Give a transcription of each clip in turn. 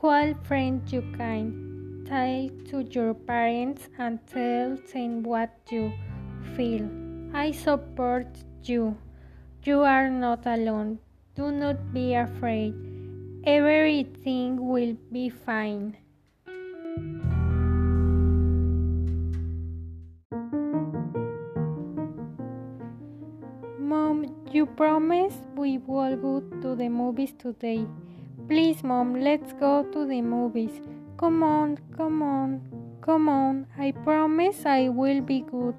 Call friends you can. Talk to your parents and tell them what you feel. I support you. You are not alone. Do not be afraid. Everything will be fine. Mom, you promised we will go to the movies today. Please, Mom, let's go to the movies. Come on, come on, come on. I promise I will be good.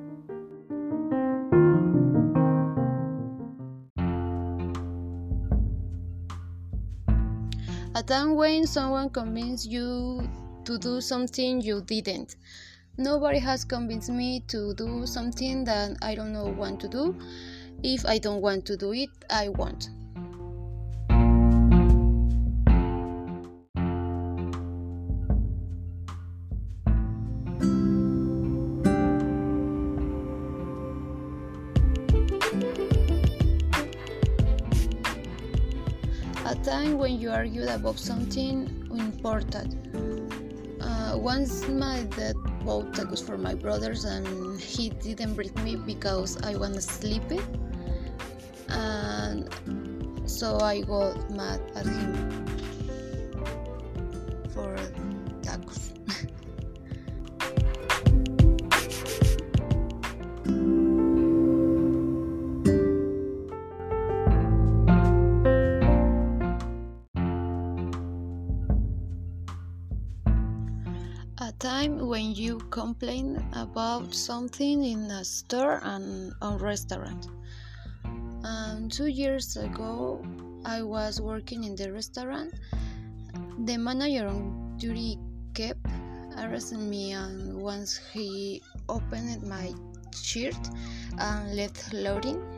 A time when someone convinced you to do something you didn't. Nobody has convinced me to do something that I don't know want to do. If I don't want to do it, I won't. A time when you argued about something important. Once my dad bought tacos for my brothers and he didn't bring me because I was sleepy, and so I got mad at him for tacos. A time when you complain about something in a store and a restaurant. 2 years ago, I was working in the restaurant. The manager on duty kept harassing me, and once he opened my shirt and left loading,